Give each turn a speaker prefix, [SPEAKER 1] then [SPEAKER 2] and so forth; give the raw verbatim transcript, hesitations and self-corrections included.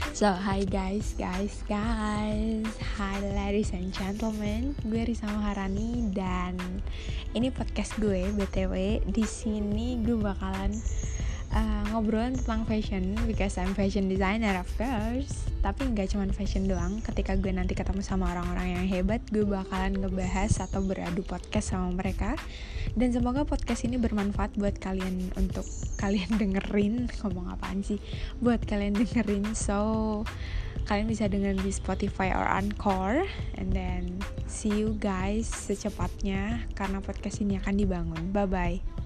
[SPEAKER 1] So, hi guys, guys, guys Hi ladies and gentlemen. Gue Risa Maharani dan ini podcast gue B T W. Di sini gue bakalan uh, ngobrolin tentang fashion because I'm fashion designer of course. Tapi nggak cuma fashion doang. Ketika gue nanti ketemu sama orang-orang yang hebat, gue bakalan ngebahas atau beradu podcast sama mereka. Dan semoga podcast ini bermanfaat buat kalian, untuk kalian dengerin. Ngomong apaan sih? Buat kalian dengerin. So kalian bisa dengerin di Spotify or Anchor. And then see you guys secepatnya, karena podcast ini akan dibangun. Bye bye.